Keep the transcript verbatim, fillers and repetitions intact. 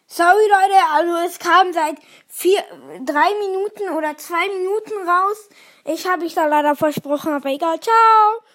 Sorry, Leute, also es kam seit vier, drei Minuten oder zwei Minuten raus. Ich habe mich da leider versprochen, aber egal. Ciao.